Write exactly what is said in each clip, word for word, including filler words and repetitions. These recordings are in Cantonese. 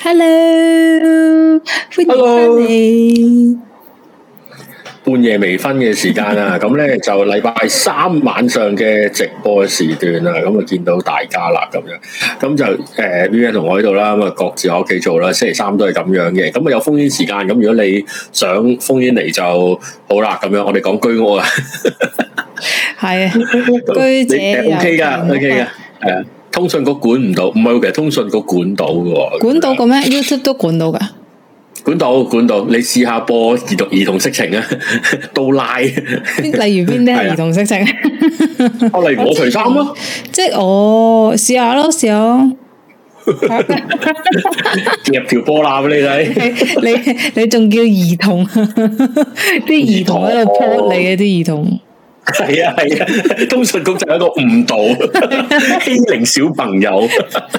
Hello，歡迎翻嚟。 半夜微醺嘅時間啊，咁咧就禮拜三晚上嘅直播時段啊，咁啊見到大家啦，咁樣，咁就誒 Vivian 同我喺度啦，咁啊各自喺屋企做啦，星期三都係咁樣嘅，咁啊有烽煙時間，咁如果你想烽煙嚟就好啦，咁樣我哋講居屋啊，係啊， 居者有 OK 噶 ，OK 噶，係啊，通訊局管唔到，唔係，其實通訊局管到嘅， 管到嘅咩 ？YouTube 都管到噶。 管到管到，你試下播兒童兒童色情啊，都拉。例如邊啲係兒童色情？ 我例如我除衫咯， 即係我試下咯，試下咯。 夾條波攬俾你睇。 你你仲叫兒童？啲兒童喺度潑你嘅啲兒童。 係啊係啊，通訊局就係一個誤導，欺凌小朋友。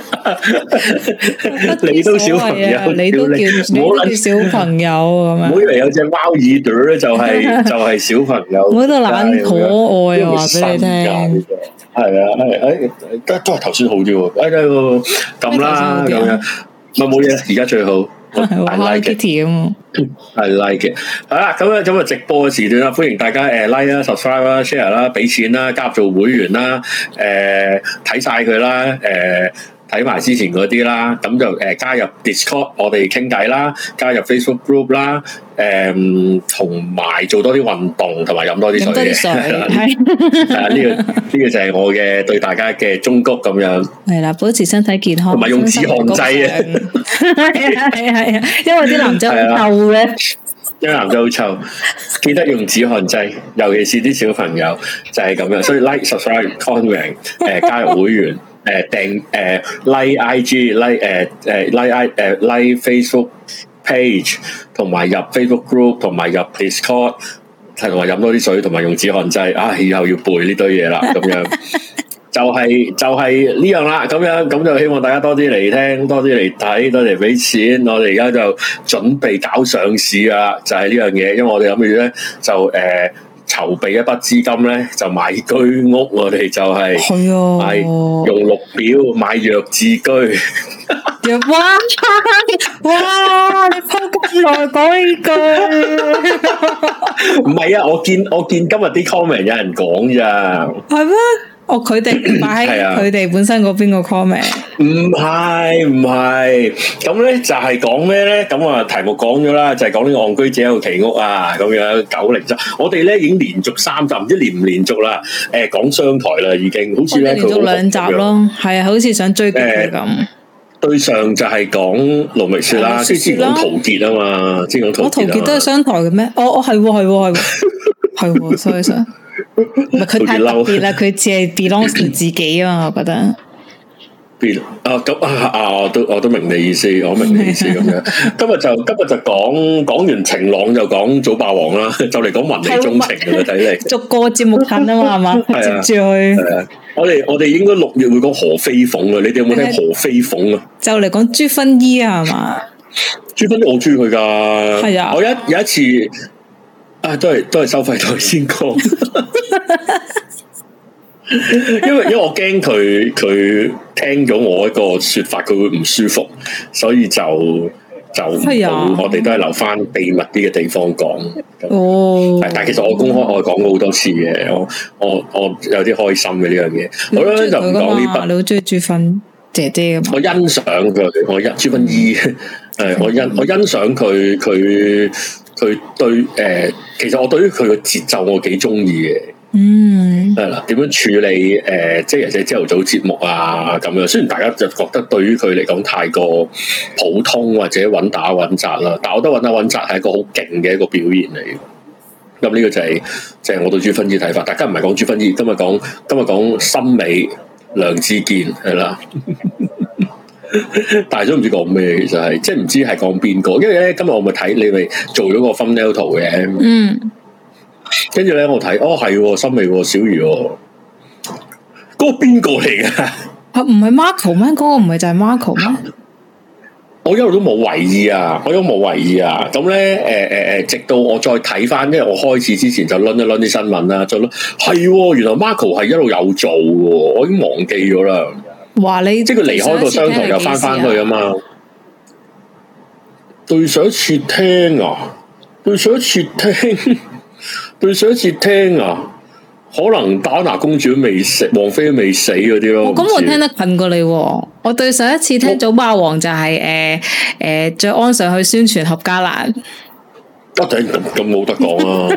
你都小朋友， 你都叫你都叫小朋友咁樣。 唔好以為有隻貓耳朵咧，就係就係小朋友。 我覺得懶可愛啊，話俾你聽。 係啊係，誒，都都係頭先好啲喎。哎呀，咁啦咁樣，咪冇嘢，而家最好。I like it，咁I like it。好啦，咁啊，咁啊，直播嘅時段啦，歡迎大家誒 like 啦、subscribe 啦、share 啦、俾錢啦、加入做會員啦，誒睇晒佢啦，誒睇埋之前嗰啲啦，咁就誒加入 Discord，我哋傾偈啦，加入 Facebook group 啦，誒同埋做多啲運動，同埋飲多啲水嘅，係啦，係啊，呢個呢個就係我嘅對大家嘅忠告咁樣。係啦，保持身體健康，同埋用止汗劑啊。係啊係啊係啊，因為啲男仔好臭嘅，因為男仔好臭，記得用止汗劑，尤其是啲小朋友就係咁樣。所以 like、subscribe、comment， 誒加入會員，誒訂誒 like I G、like 誒誒 like I 誒 like Facebook page， 同埋入 Facebook group， 同埋入 Discord， 同埋飲多啲水，同埋用止汗劑。啊，以後要背呢堆嘢啦，咁樣。就係、是、就係、是、呢樣啦，咁樣咁就希望大家多啲嚟聽，多啲嚟睇，多啲嚟俾錢。我哋而家就準備搞上市啊，就係、是、呢樣嘢。因為我哋諗住咧就誒籌備一筆資金咧，就買居屋。我哋就係係啊，係用綠表買弱智居。哇哇！你鋪咁耐講呢句，唔係啊！我見我見今日啲 comment 有人講咋，係咩？哦，佢哋擺喺佢哋本身嗰邊個 comment，唔係唔係，咁咧就係講咩咧？咁啊題目講咗啦，就係講呢個戇居者有其屋啊，咁樣九零集，我哋咧已經連續三集，唔知連唔連續啦？誒，講商台啦，已經好似咧，連續兩集咯，係啊，好似想追擊佢咁。對上就係講盧覓雪啦，即係之前講陶傑啊嘛，之前講陶傑。我陶傑都係商台嘅咩？哦哦，係係係係，所以所以。唔係佢太特別啦，佢只係 belongs to 自己啊嘛，我覺得。別啊咁啊啊！我都我都明你意思，我明你意思咁樣。今日就今日就講講完晴朗就講早霸王啦，就嚟講文理中情嘅啦，睇嚟。逐個節目近啊嘛，係嘛？接住去。係啊，我哋我哋應該六月會講何飛鳳啊，你哋有冇聽何飛鳳啊？就嚟講朱薰衣啊，係嘛？朱薰衣我中意佢噶，係啊，我有有一次。啊，都係都係收費台先講，因為因為我驚佢佢聽咗我一個說法，佢會唔舒服，所以就就我哋都係留翻秘密啲嘅地方講。哦，但係其實我公開我講過好多次嘅，我我我有啲開心嘅呢樣嘢。好啦，就唔講呢筆。你好中意朱薰姐姐咁？我欣賞佢，我欣朱薰衣，誒，我欣我欣賞佢佢。佢對誒、呃，其實我對於佢嘅節奏我幾中意嘅，嗯，係啦，點樣處理誒、呃，即係尤其朝頭早節目啊咁樣。雖然大家就覺得對於佢嚟講太過普通或者穩打穩紮啦，但係我覺得穩打穩紮係一個好勁嘅一個表現嚟。咁呢個就係、是、就係、是、我對朱薰衣睇法。大家唔係講朱薰衣，今日講今日講森美梁志堅係啦。但係都唔知講咩，其實係即係唔知係講邊個，因為咧今日我咪睇你咪做咗個 thumbnail 圖嘅，嗯，跟住咧我睇哦係森美小瑜，嗰個邊個嚟嘅？啊唔係 Marco 咩？嗰個唔係就係 Marco 咩？我一路都冇為意啊，我一路冇為意啊，咁咧誒誒誒，直到我再睇翻，因為我開始之前就輪一輪啲新聞啦，就輪係原來 Marco 係一路有做嘅，我已經忘記咗啦。話你即係佢離開個商台又翻翻去啊嘛， 對上一次聽啊，對上一次聽，對上一次聽啊，可能打拿公主未死，王妃未死嗰啲咯。咁、哦、 我聽得近過你、啊，我對上一次聽早霸王就係誒誒，着、呃、安上去宣傳合家蘭。 一定咁咁冇得講啊！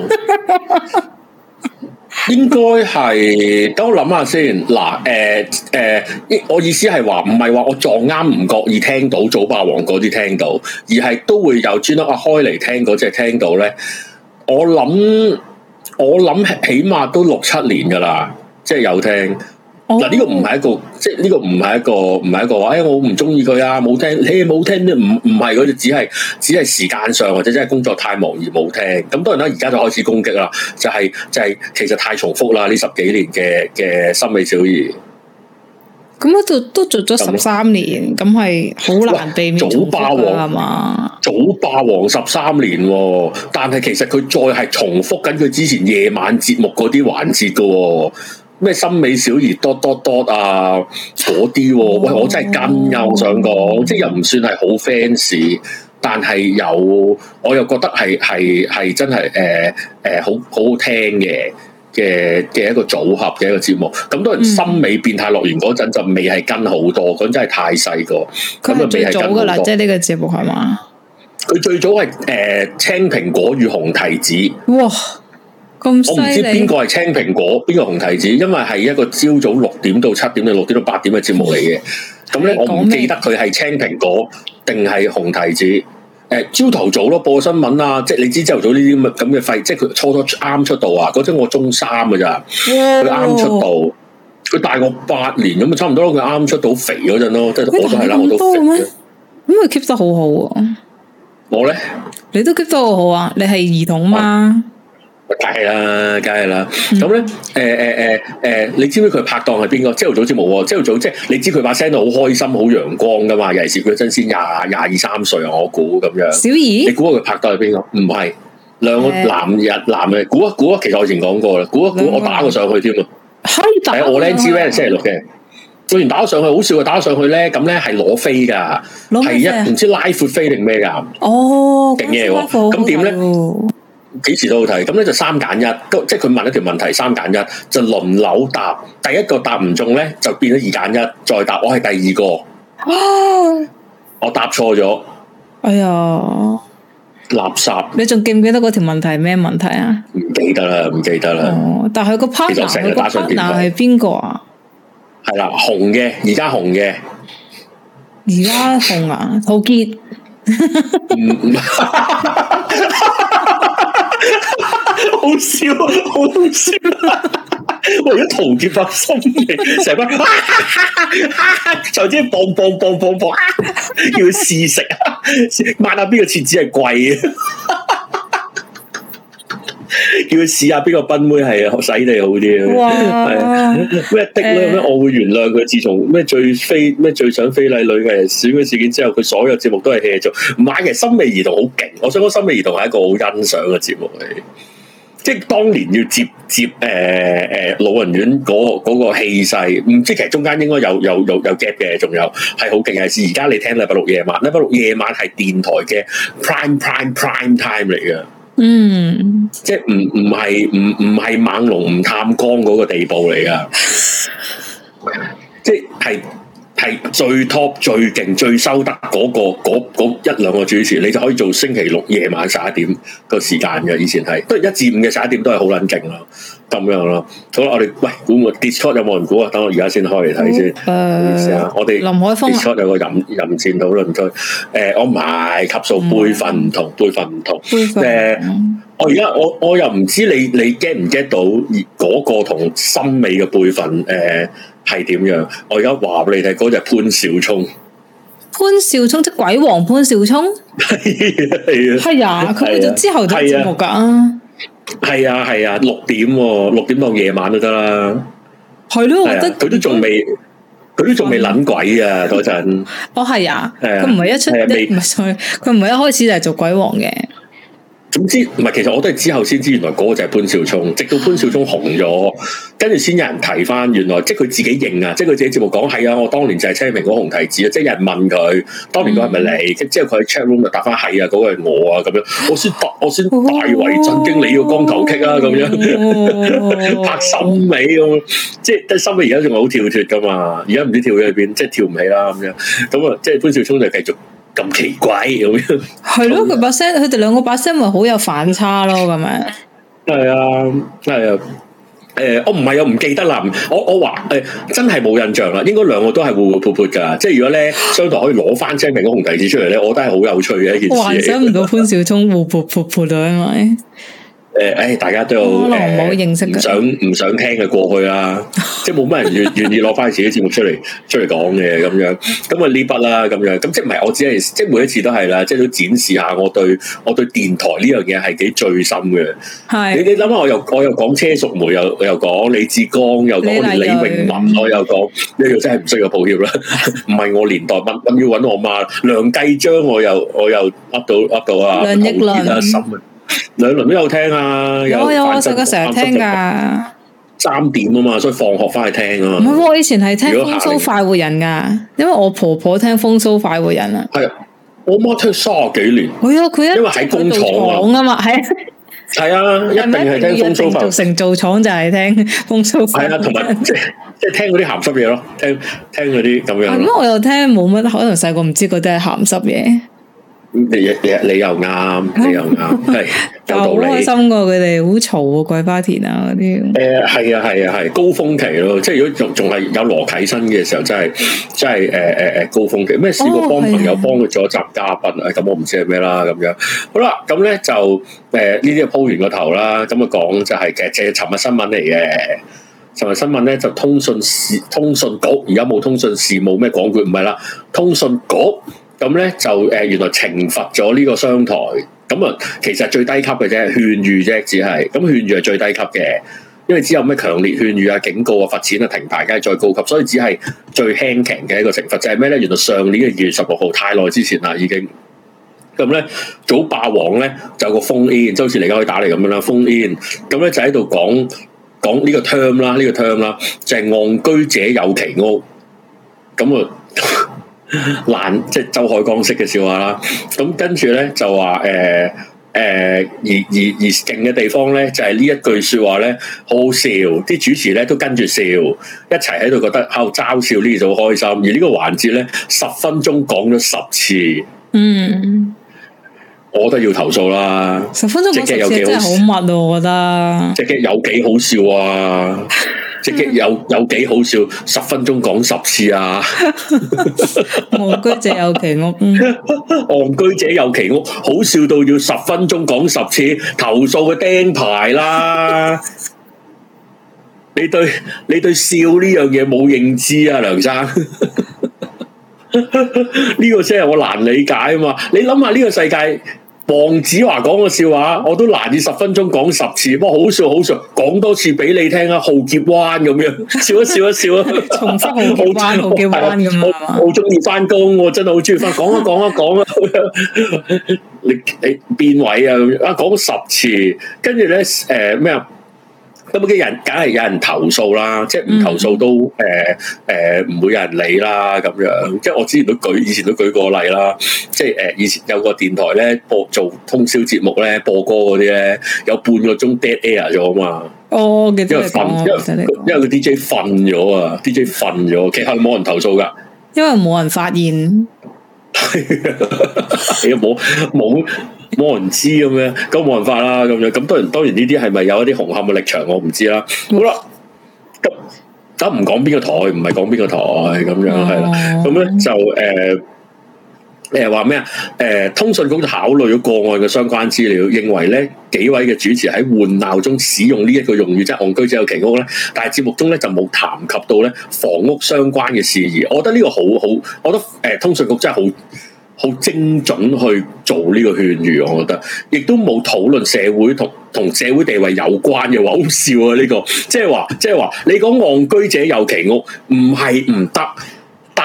應該係，等我諗下先。嗱，誒、呃、誒、呃，我意思係話，唔係話我撞啱唔覺意聽到早霸王嗰啲聽到，而係都會有專登啊開嚟聽嗰隻聽到咧。我諗我諗起碼都六七年噶啦，即係有聽。嗱，呢個唔係一個，即係呢個唔係一個，唔係一個話，哎，我唔中意佢啊，冇聽，你冇聽，唔唔係嗰啲，只係只係時間上或者真係工作太忙而冇聽。咁當然啦，而家就開始攻擊啦，就係、是、就係、是、其實太重複啦，呢十幾年嘅嘅森美小儀。咁喺度都做咗十三年，咁係好難避免重複㗎係嘛？ 早霸王十三年，但係其實佢再係重複緊佢之前夜晚節目嗰啲環節㗎。咩森美小儀多多多啊嗰啲，喂，我真係跟啊！我想講，即係又唔算係好 fans，但係有我又覺得係係係真係誒誒好好好聽嘅嘅嘅一個組合嘅一個節目。咁當然森美變態樂園嗰陣就未係跟好多，嗰陣真係太細個。 佢係最早噶啦，即係呢個節目係嘛？佢最早係誒、呃、青蘋果與紅提子。 哇！我唔知邊個係青蘋果，邊個紅提子，因為係一個朝早六點到七點定六點到八點嘅節目嚟嘅。咁咧，我唔記得佢係青蘋果定係紅提子。誒、呃，朝頭早咯，播新聞啊，即係你知朝頭早呢啲咁咁嘅廢，即係佢初初啱出道啊。嗰陣我中三㗎咋，佢啱出道，佢大我八年咁啊，差唔多咯。佢啱出道肥嗰陣咯，即係我都係啦，我都肥嘅。 咁佢 keep 得好好啊！ 我咧， 你都 keep 得好好啊！你係兒童嘛？ 梗係啦，梗係啦。咁咧，誒誒誒誒，你知唔知佢拍檔係邊個？朝頭早節目，朝頭早即係你知佢把聲都好開心、好陽光噶嘛。尤其是佢真先廿廿二三歲啊，我估咁樣。 小儀，你估下佢拍檔係邊個？唔係兩個男人男嘅，估一估啊。其實我以前講過啦，估一估，我打過上去添啊。係我靚知咩？星期六嘅，做完打咗上去，好笑啊！打咗上去咧，咁咧係攞飛噶，係一唔知拉闊飛定咩噶。 哦， 勁嘢喎！咁點咧？幾時都好睇，咁咧就三揀一，即係佢問一條問題，三揀一就輪流答，第一個答唔中咧就變咗二揀一，再答。我係第二個，啊、我答錯咗， 哎呀， 垃圾！你仲記唔記得嗰條問題係咩問題啊？ 唔記得啦，唔記得啦。 哦，但係個 partner，佢個 partner 係邊個啊？ 係啦，紅嘅，而家紅嘅， 而家紅啊，陶傑。唔好笑，好笑！為咗陶傑發心嘅，成班就即係蹦蹦蹦蹦蹦，要試食啊！抹下邊個廁紙係貴啊！叫佢試下邊個賓妹係啊，洗地好啲啊！係咩的咧？咩我會原諒佢。自從咩最非咩最想非禮女嘅選舉事件之後，佢所有節目都係 hea 做。唔係嘅，森美兒童好勁。我想講森美兒童係一個好欣賞嘅節目嚟。即係當年要接接誒誒、呃、老人院嗰、那個嗰、那個氣勢，唔知其實中間應該有有有有 gap 嘅，仲有係好勁嘅。係而家你聽禮拜六夜晚，禮拜六夜晚係電台嘅 prime prime prime time 嚟嘅。嗯，即係唔唔係唔唔係猛龍唔探光嗰個地步嚟噶，即係係最 top 最勁最收得嗰、嗰個嗰嗰一兩個主持，你就可以做星期六夜晚十一點個時間嘅。以前係都係一至五嘅十一點都係好撚勁咯，咁樣咯。好啦，我哋喂估唔 Discord 有冇人估啊？等我而家先開嚟睇先。誒、呃，我哋林海峰 Discord 有個淫淫戰討論區。誒、呃，我唔係級數輩份唔同，輩份唔同。誒、呃，我而家我我又唔知你你 get 唔 get 到嗰個同森美嘅輩份誒？呃係點樣？我而家話俾你睇，嗰隻潘少聰，潘少聰即係鬼王潘少聰，係啊係啊，係啊，佢就之後做節目噶，係啊係啊，六點六點到夜晚都得啦，係咯，我覺得佢都仲未，佢都仲未捻鬼啊嗰陣，哦係啊，佢唔係一出，唔係佢唔係一開始就係做鬼王嘅。 總之唔係，其實我都係之後先知，原來嗰個就係潘紹聰。直到潘紹聰紅咗，跟住先有人提翻，原來即係佢自己認啊，即係佢自己節目講係啊，我當年就係青蘋果紅提子啊，即係有人問佢當年嗰係咪你？嗯、之後佢喺 chat room 就答翻係啊，嗰、嗰個係我啊，咁樣我先大我先大為震驚，你個光頭棘啊，咁樣拍心尾咁，即係得心尾而家仲係好跳脫噶嘛，而家唔知跳咗去邊，即係跳唔起啦咁樣，咁啊，即係潘紹聰就繼續。咁奇怪咁樣，係咯， 佢把聲，佢哋兩個把聲咪好有反差咯，咁樣。 係啊，係啊，誒，我唔係又唔記得啦，我我話誒，真係冇印象啦，應該兩個都係活活潑潑噶，即係如果咧，商台可以攞翻青蘋果紅提子出嚟咧，我覺得係好有趣嘅一件事。幻想唔到潘紹聰活潑潑潑啊，因為。誒，誒，大家都有誒，唔想唔想聽嘅過去啦，即係冇乜人願願意攞翻自己節目出嚟出嚟講嘅咁樣，咁啊呢筆啦咁樣，咁即係唔係我只係即係每一次都係啦，即係都展示下我對我對電台呢樣嘢係幾醉心嘅。係你你諗下，我又我又講車淑梅，又又講李志剛，又講李詠文，我又講呢個真係唔需要抱歉啦，唔係我年代，乜咁要搵我媽梁繼章，我又我又噏到噏到啊， 梁奕倫。 兩輪都有聽啊，有有我細個成日聽噶， 三點啊嘛，所以放學翻去聽啊嘛。 唔係，我以前係聽風騷快活人噶，因為我婆婆聽風騷快活人啊。係啊， 我媽聽卅幾年。 係啊，佢一因為喺工廠啊嘛，係啊， 係啊，一定係聽風騷快活人。 成做廠就係聽風騷快活人。係啊， 同埋即係即係聽嗰啲鹹濕嘢咯，聽聽嗰啲咁樣。 咁我又聽冇乜，可能細個唔知嗰啲係鹹濕嘢。 你你你又啱，你又啱，係有道理。好開心噶，佢哋好嘈啊，桂花田啊嗰啲。誒， 係啊，係啊，係高峰期咯。即係如果仲仲係有羅啟新嘅時候，真係真係誒誒誒高峰期。咩試過幫朋友幫佢做一集嘉賓啊？咁我唔知係咩啦。咁樣好啦，咁咧就誒呢啲鋪完個頭啦。咁啊講就係其實即係尋日新聞嚟嘅。尋日新聞咧就通訊事通訊局，而家冇通訊事務咩廣告，唔係啦，通訊局。咁咧就誒、呃、原來懲罰咗呢個商台，咁啊其實最低級嘅啫，勸喻啫，只係咁勸喻係最低級嘅，因為只有咩強烈勸喻啊、警告啊、罰錢啊、停牌梗係再高級，所以只係最輕強嘅一個懲罰，就係咩咧？原來上年嘅二月十六號，太耐之前啦已經。咁咧早霸王咧就有個 phone in，即好似嚟家可以打嚟咁樣啦 phone in，咁咧就喺度講講呢個 term 啦，呢、呢個 term 啦，就係戇居者有其屋，咁啊。爛即係周海光式嘅笑話啦，咁跟住咧就話誒誒而而而勁嘅地方咧就係、是、呢一句說話咧好好笑，啲主持咧都跟住笑，一齊喺度覺得喺度嘲笑呢就好開心，而個環節呢個環節咧十分鐘講咗十次，嗯，我覺得要投訴啦，十分鐘講十次真係好密啊，我覺得即係有幾好笑啊！即係有有幾好笑，十分鐘講十次啊！戇居者有其屋，戇居者有其屋，好笑到要十分鐘講十次，投訴嘅釘牌啦！你對你對笑呢樣嘢冇認知啊，梁生？呢個先係我難理解啊嘛！你諗下呢個世界。黃子華講個笑話，我都難以十分鐘講十次，不過好笑好笑，講多次俾你聽啊！浩劫灣咁樣，笑一笑一笑啊！重複浩劫灣，浩劫灣咁啊！好中意翻工，我真係好中意翻，講啊講啊講啊！你你邊位啊？啊講十次，跟住咧誒咩啊？咁嘅人梗係有人投訴啦，即係唔投訴都誒誒唔會有人理啦咁樣。即係我之前都舉，以前都舉過例啦。即係誒、呃、以前有個電台咧播做通宵節目咧播歌嗰啲咧，有半個鐘 dead air 咗啊嘛。哦，因為瞓，因為因為個 D J 瞓咗啊 ，D J 瞓咗，其實冇人投訴噶，因為冇人發現。係啊，冇冇。冇人知咁樣，咁冇辦法啦咁樣，咁當然當然呢啲係咪有一啲紅磡嘅立場，我唔知啦。好啦，咁咁唔講邊個台，唔係講邊個台咁樣係啦。咁咧就誒誒話咩啊？誒、呃、通訊局就考慮咗個案嘅相關資料，認為咧幾位嘅主持喺換鬧中使用呢一個用語，即係戇居者有其屋咧，但係節目中咧就冇談及到咧房屋相關嘅事宜。我覺得呢個好好，我覺得誒、呃、通訊局真係好。好精準去做呢個勸喻，我覺得，亦都冇討論社會同同社會地位有關嘅話，好笑啊！呢、這個即係話，即係話，你講戇居者有其屋，唔係唔得，但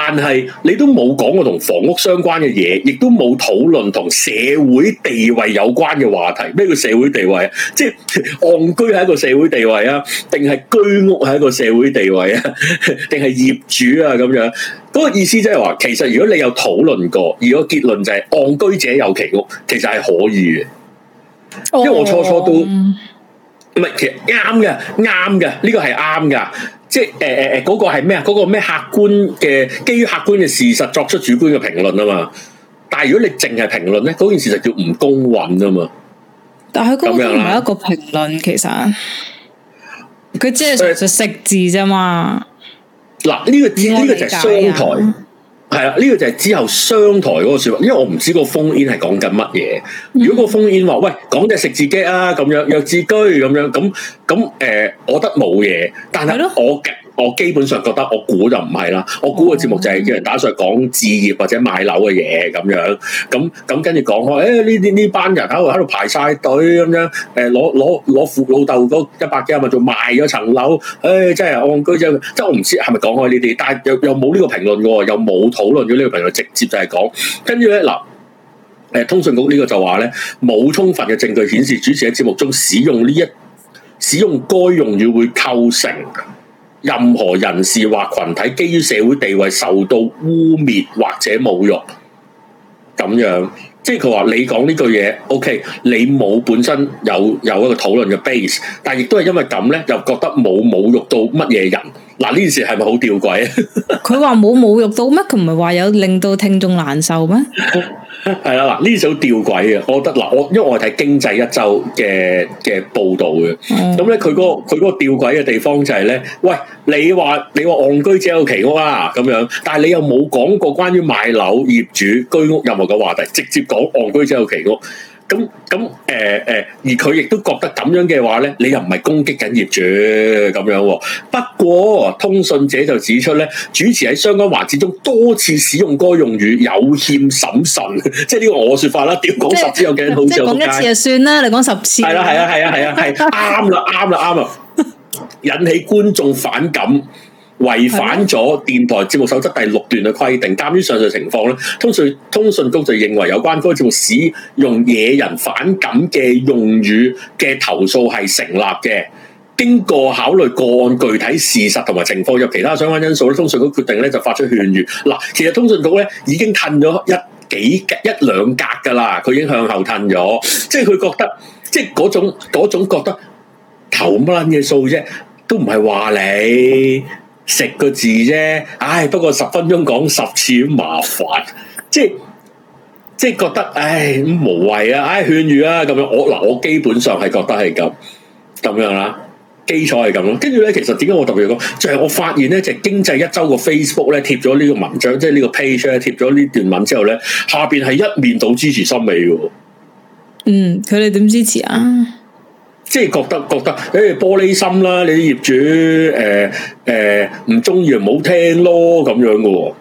但係你都冇講過同房屋相關嘅嘢，亦都冇討論同社會地位有關嘅話題。咩叫社會地位啊？即係戇居係一個社會地位啊，定係居屋係一個社會地位啊，定係業主啊咁樣？嗰、那個意思即係話，其實如果你有討論過，而個結論就係戇居者有其屋，其實係可以嘅。因為我初初都唔係，其實啱嘅，啱嘅，呢個係啱噶。即係誒誒誒，嗰個係咩啊？嗰個咩客觀嘅，基於客觀嘅事實作出主觀嘅評論啊嘛。但係如果你淨係評論咧，嗰件事就叫唔公允啊嘛。 但係佢嗰個唔係一個評論，其實佢只係純粹食字啫嘛。嗱、呃，呢、這個呢、這個就係商台。係啦，呢、這個就係之後商台嗰個說法，因為我唔知個烽煙係講緊乜嘢。如果個烽煙話喂，講隻食字機啊，咁樣弱智居咁樣，咁咁誒，我覺得冇嘢。但係我我基本上覺得，我估就唔係啦。我估個節目就係叫人打上講置業或者買樓嘅嘢咁樣。咁咁跟住講開，誒呢啲呢班人喺度喺度排晒隊咁樣，誒攞攞攞父老豆嗰一百幾萬做賣咗層樓，誒、哎、真係戇居啫。即係我唔知係咪講開呢啲，但係又又冇呢個評論嘅，又冇討論咗呢個評論，直接就係講。跟住咧嗱，誒通訊局呢個就話咧，冇充分嘅證據顯示主持喺節目中使用呢一使用該用語會構成任何人士或群體基於社會地位受到污蔑或者侮辱，咁樣即係佢話你講呢句嘢 ，OK， 你冇本身有有一個討論嘅 base， 但係亦都係因為咁咧，又覺得冇侮辱到乜嘢人。嗱呢件事係咪好吊詭啊？佢話冇侮辱到咩？佢唔係話有令到聽眾難受咩？係啦，嗱呢啲就好吊詭嘅，我覺得嗱，我因為我係睇經濟一周嘅嘅報道嘅，咁咧佢嗰個佢嗰個吊詭嘅地方就係咧，喂，你話你話戇居者有其屋啊咁樣，但係你又冇講過關於買樓、業主、居屋任何嘅話題，直接講戇居者有其屋。咁咁誒誒，而佢亦都覺得咁樣嘅話咧，你又唔係攻擊緊業主咁樣喎。不過通訊者就指出咧，主持喺相關環節中多次使用該用語有欠審慎，即係呢個我說法啦。屌講十次有幾好笑？即係講一次就算啦，你講十次。係啦係啊係啊係啊係，啱啦啱啦啱啦，引起觀眾反感。違反咗電台節目守則第六段嘅規定，鑑於上述情況咧，通訊通訊局就認為有關該節目使用惹人反感嘅用語嘅投訴係成立嘅。經過考慮個案具體事實同埋情況及其他相關因素咧，通訊局決定咧就發出勸喻。嗱，其實通訊局咧已經褪咗一幾格一兩格噶啦，佢已經向後褪咗，即係佢覺得，即係嗰種嗰種覺得投乜撚嘅數啫，都唔係話你。食個字啫，唉，不過十分鐘講十次麻煩，即係即係覺得唉咁無謂啊，唉勸喻啊咁樣，我嗱我基本上係覺得係咁咁樣啦，基礎係咁咯。跟住咧，其實點解我特別講，就係、是、我發現咧，就係、經濟一周個 Facebook 咧貼咗呢個文章，即係呢個 page 咧貼咗呢段文之後咧，下邊係一面倒支持森美嘅。嗯，佢哋點支持啊？即係覺得覺得誒、欸、玻璃心啦，你啲業主誒誒唔中意唔好聽咯咁樣嘅喎。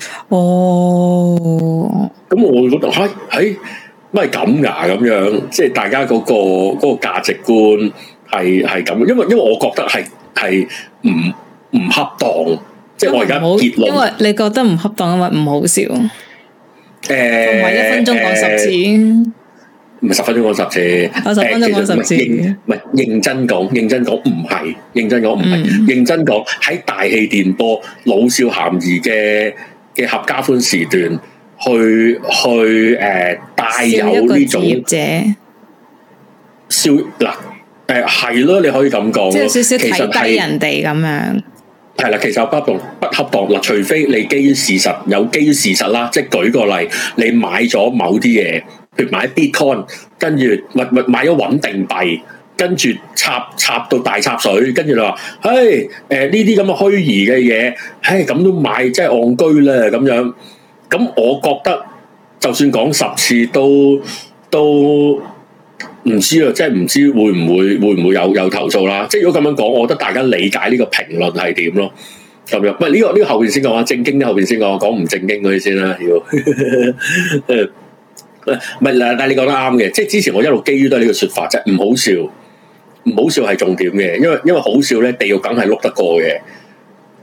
哦，咁我會覺得係係乜係咁㗎咁樣，即係大家嗰、嗰個嗰、嗰個價值觀係係咁，因為因為我覺得係係唔唔恰當，即係我而家結論，因為你覺得唔恰當，因為唔好笑。誒、欸，同埋一分鐘講十次。欸唔係十分鐘講十次，我十分鐘講十次。唔係認真講，認真講唔係，認真講唔係，認真講喺大氣電波老少咸宜嘅嘅合家歡時段，去去誒帶、呃、有呢種者笑嗱誒係咯，你可以咁講，即係少少睇低人哋咁樣。係啦，其實不當不恰當嗱，除非你基於事實，有基於事實啦，即係舉個例，你買咗某啲嘢。譬如買 Bitcoin，跟住咪咪買咗穩定幣，跟住插插到大插水，跟住你話，嘿，誒呢啲咁嘅虛擬嘅嘢，嘿咁都買，真係戇居啦咁樣。咁我覺得，就算講十次都都唔知啊，即係唔知會唔會會唔會有有投訴啦。即係如果咁樣講，我覺得大家理解呢個評論係點咯。咁樣，喂呢個呢個後邊先講啊，正經啲後邊先講，講唔正經嗰啲先啦，要。唔係啦，但係你講得啱嘅，即係之前我一路基於都係呢個說法啫，唔好笑，唔好笑係重點嘅，因為因為好笑咧，地獄梗係碌得過嘅，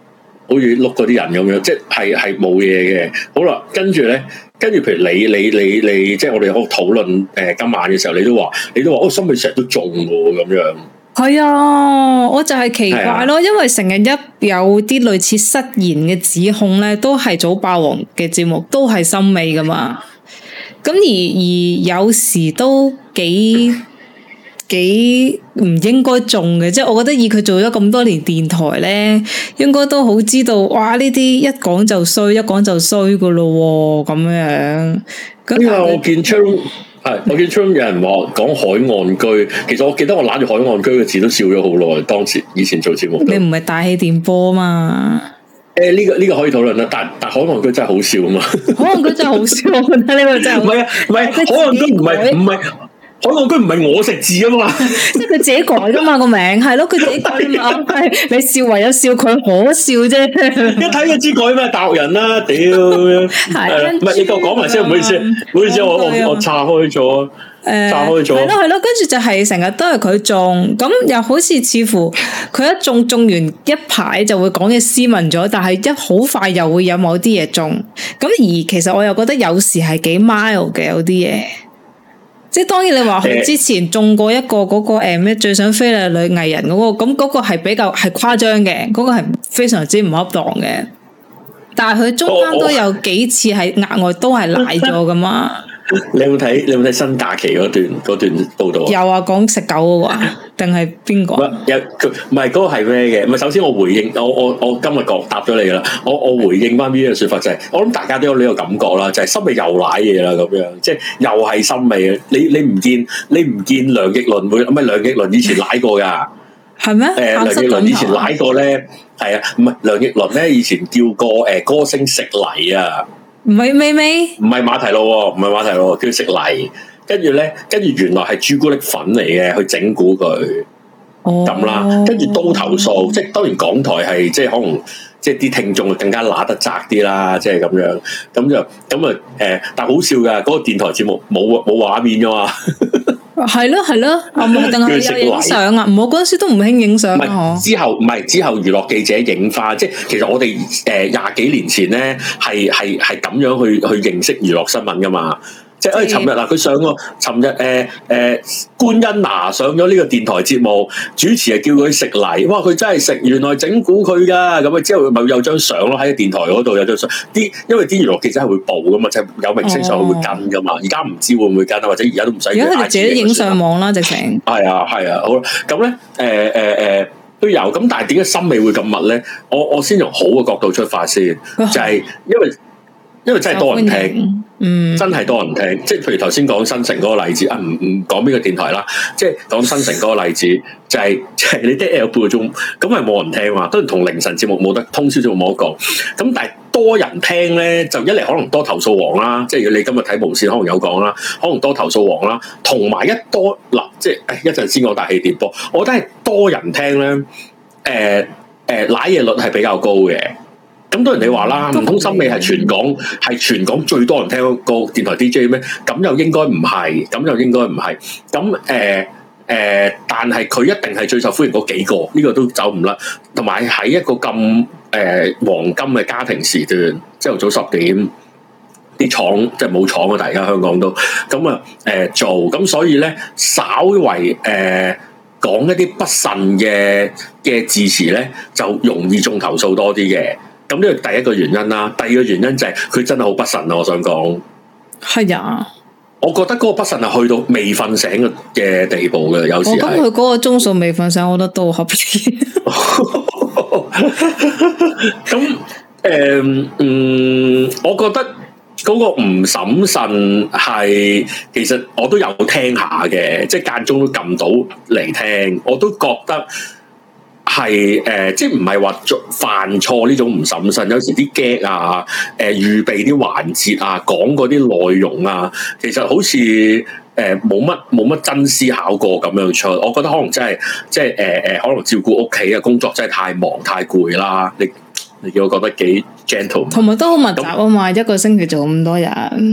好似碌嗰啲人咁樣，即係係冇嘢嘅。好啦，跟住咧，跟住譬如你你你你，即係我哋喺度討論誒、呃、今晚嘅時候，你都話你都話哦，森美成日都中喎咁樣。係啊，我就係奇怪咯，啊、因為成日一有啲類似失言嘅指控咧，都係早霸王嘅節目，都係森美噶嘛。咁而而有時都幾幾唔應該中嘅，即係我覺得以佢做咗咁多年電台咧，應該都好知道，哇！呢啲一講就衰，一講就衰噶咯，咁樣。咁啊，我見出。係，我見出有人話講海岸居，其實我記得我攬住海岸居嘅字都笑咗好耐。當時以前做節目， 你唔係大氣電波嘛？ 誒、欸，呢、這個呢、這個可以討論啦。但但海岸居真係好笑啊嘛！ 海岸居真係好笑，我覺得呢個真係唔係啊，唔係海岸居唔係唔係。海岸居唔係我食字啊嘛，即係佢自己改噶嘛個名，係咯，佢自己改嘛，係你笑唯有笑佢可笑啫。 一睇就知改咩大陸人啦，屌！係，唔係你夠講埋先，唔好意思，唔好意思，我我我岔開咗，誒，岔開咗，係咯係咯，跟住就係成日都係佢中，咁又好似似乎佢一中中完一排就會講嘢斯文咗，但係一好快又會有某啲嘢中，咁而其實我又覺得有時係幾 mild 嘅有啲嘢。即係當然你話佢之前中過一個嗰、那個誒咩、呃、最想飛嘅女藝人嗰、那個，咁嗰個係比較係誇張嘅，嗰、那個係非常之唔恰當嘅。但係佢中間都有幾次係額外都係賴咗噶嘛。 你有冇睇？你有冇睇新假期嗰段嗰段報道啊？ 有啊，講食狗嗰個啊，定係邊個？ 有佢唔係嗰個係咩嘅？唔係首先我回應我我我今日講答咗你噶啦。我我回應翻呢個說法就係、是，我諗大家都有呢個感覺啦，就係森美又賴嘢啦咁樣，即係又係森美啊！你你唔見你唔見梁奕倫會唔係梁奕倫以前賴過噶？係咩？誒，梁奕倫以前賴過咧，係啊，唔係梁奕倫咧以前叫過誒歌星食泥啊。 唔係咪咪？ 唔係馬蹄路喎，唔係馬蹄路，叫食泥。跟住咧，跟住原來係朱古力粉嚟嘅，去整蠱佢。哦，咁啦，跟住都投訴，即係當然港台係即係可能即係啲聽眾更加揦得窄啲啦，即係咁樣。咁就咁啊誒，但係好笑㗎，嗰、嗰個電台節目冇冇畫面㗎嘛。係咯係咯，啊冇定係有影相啊？唔好嗰陣時都唔興影相啊！ 之後唔係之後娛樂記者影翻，即係其實我哋誒廿幾年前咧係係係咁樣去去認識娛樂新聞噶嘛。即係誒，尋日嗱，佢上個尋日誒誒，官恩娜上咗呢個電台節目，主持係叫佢食泥，哇！佢真係食，原來整蠱佢噶，咁啊之後咪有張相咯，喺電台嗰度有張相，啲因為啲娛樂記者係會報噶嘛，即係有明星上去會跟噶嘛，而家唔知會唔會跟啊，或者而家都唔使。而家佢哋自己影上網啦，直情。係啊係啊，好啦，咁咧誒誒誒都有，咁但係點解森美會咁密咧？我我先從好嘅角度出發先，就係因為因為真係多人聽。嗯，真係多人聽，即係譬如頭先講新城嗰個例子啊，唔唔講邊個電台啦，即係講新城嗰個例子，就係、是、就係、是、你啲 L 半個鐘，咁係冇人聽嘛，當然同凌晨節目冇得，通宵節目冇得講，咁但係多人聽咧，就一嚟可能多投訴王啦，即係如果你今日睇無線可能有講啦，可能多投訴王啦，同埋一多嗱，即係一陣先講大氣電波，我覺得係多人聽咧，誒、呃、誒，瀨、呃、嘢率係比較高嘅。咁多人哋話啦，唔通森美係全港係全港最多人聽個電台 D J 咩？咁又應該唔係，咁又應該唔係。咁誒誒，但係佢一定係最受歡迎嗰幾個，呢、這個都走唔甩。同埋喺一個咁誒、呃、黃金嘅家庭時段，朝頭早十點，啲廠即係冇廠啊！大家香港都咁啊誒做，咁所以咧稍為誒、呃、講一啲不慎嘅嘅字詞咧，就容易中投訴多啲嘅。咁呢個第一個原因啦，第二個原因就係佢真係好不慎啊！我想講係啊， 我覺得嗰個不慎係去到未瞓醒嘅地步嘅，有時係。我覺得佢嗰個鐘數未瞓醒，我覺得都合理。 咁誒、呃，嗯，我覺得嗰個唔審慎係，其實我都有聽下嘅，即係間中都撳到嚟聽，我都覺得。係誒、呃，即係唔係話做犯錯呢種唔審慎，有時啲 gag 啊，誒、呃、預備啲環節啊，講嗰啲內容啊，其實好似誒冇乜冇乜真思考過咁樣出，我覺得可能真係即係誒誒，可能照顧屋企嘅工作真係太忙太攰啦，你你叫我覺得幾 gentle， 同埋都好密集啊嘛，那一個星期做咁多日。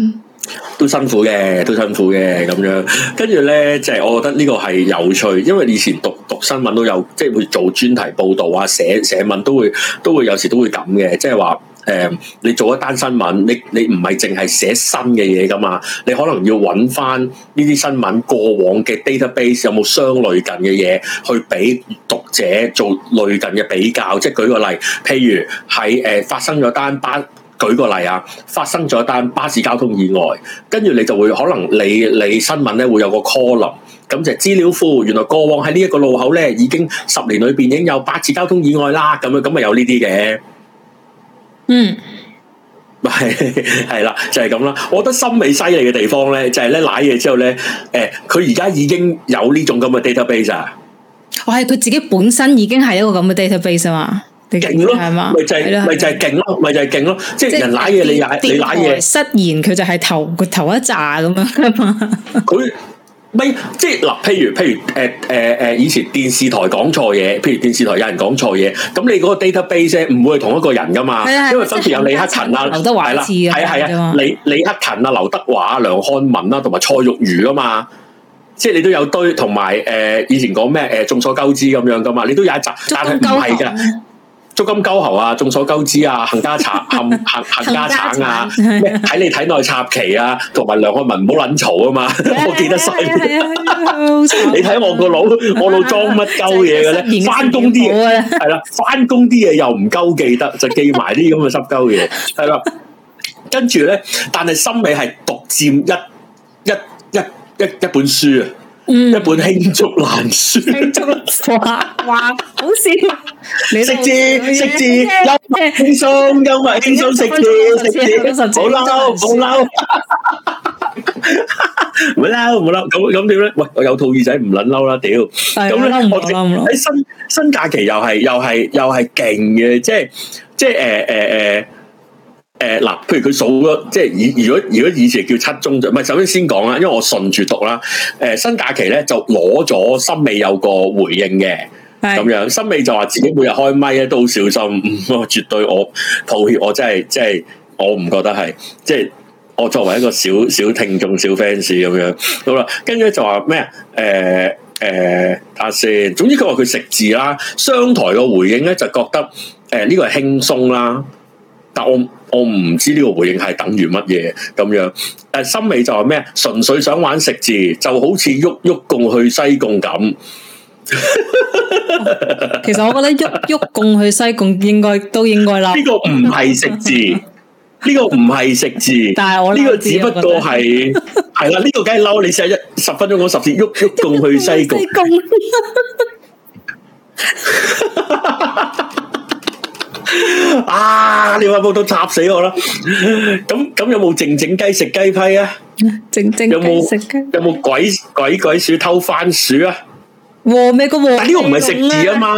都辛苦嘅，都辛苦嘅咁樣。跟住咧，即係我覺得呢個係有趣，因為以前讀讀新聞都有，即係會做專題報導啊，寫寫文都會都會有時都會咁嘅，即係話。誒、嗯，你做一單新聞，你你唔係淨係寫新嘅嘢噶嘛？你可能要揾翻呢啲新聞過往嘅 database 有冇相類近嘅嘢，去俾讀者做類近嘅比較。即係舉個例，譬如喺誒、呃、發生咗單巴，舉個例啊，發生咗單巴士交通意外，跟住你就會可能你你新聞咧會有個 column，咁就資料庫，原來過往喺呢一個路口咧已經十年裏邊已經有八次交通意外啦，咁樣咁咪有呢啲嘅。嗯，係係啦，就係咁啦。我覺得森美犀利嘅地方咧，就係咧瀨嘢之後咧，誒，佢而家已經有呢種咁嘅 database 啊。 我係佢自己本身已經係一個咁嘅 database 啊嘛，勁咯，係嘛？ 咪就係咪就係勁咯，咪就係勁咯。即係人瀨嘢，你瀨你瀨嘢， 失言佢就係頭佢頭一紮咁樣噶嘛。佢。 咪即係嗱，譬如譬如誒誒誒，以前電視台講錯嘢，譬如電視台有人講錯嘢，咁你嗰個 database 唔會係同一個人噶嘛？係因為分別有李克勤啊、劉德華啦，係啊係啊，李李克勤啊、劉德華、梁漢文啦，同埋蔡玉如噶嘛，即係你都有堆，同埋誒以前講咩誒眾所周知咁樣噶嘛，你都有一集，但係唔係噶。足金鳩喉啊，眾所周知啊，冚家鏟冚冚冚家鏟啊，咩睇你體內插旗啊，同埋梁漢文唔好撚嘈啊嘛，我記得晒。你睇我個腦，我腦裝乜鳩嘢嘅咧？翻工啲嘢係啦，翻工啲嘢又唔鳩記得，就記埋啲咁嘅濕鳩嘢，係啦。跟住咧，但係森美係獨佔一一一一一本書啊。嗯、一本罄竹難書，罄竹哇哇，好笑！識字識字，幽默輕鬆，幽默輕鬆，識字識字，好嬲好嬲，唔好嬲唔好嬲，咁咁點咧？喂，我有套耳仔唔撚嬲啦，屌！咁咧，我喺新新假期又係又係又係勁嘅，即係即係誒誒誒。呃呃呃誒，嗱、呃，譬如佢數咗，即係以如果如果以前叫七宗罪，唔係，首先先講啦，因為我順住讀啦。誒、呃，新假期咧就攞咗森美有個回應嘅，咁是樣森美就話自己每日開咪咧都好小心，我絕對我抱歉，我真係即係我唔覺得係，即係我作為一個小小聽眾、小 fans 咁樣，好啦，跟住就話咩啊？誒、呃、誒，睇下先，總之佢話佢食字啦，商台個回應咧就覺得誒呢、呃這個係輕鬆啦，但我。我唔知呢個回應係等於乜嘢咁樣，誒，森美就話咩？純粹想玩食字，就好似喐喐共去西貢咁。 其實我覺得喐喐共去西貢應該都應該啦。 呢個唔係食字，呢個唔係食字，但係我呢個只不過係係啦，呢個梗係嬲你成日一十分鐘講十次喐喐共去西貢。啊！你話報道插死我啦！咁咁有冇靜靜雞食雞批啊？ 靜靜有冇食雞？有冇鬼鬼鬼鼠偷番薯啊？ 和咩個和？ 但呢個唔係食字啊嘛！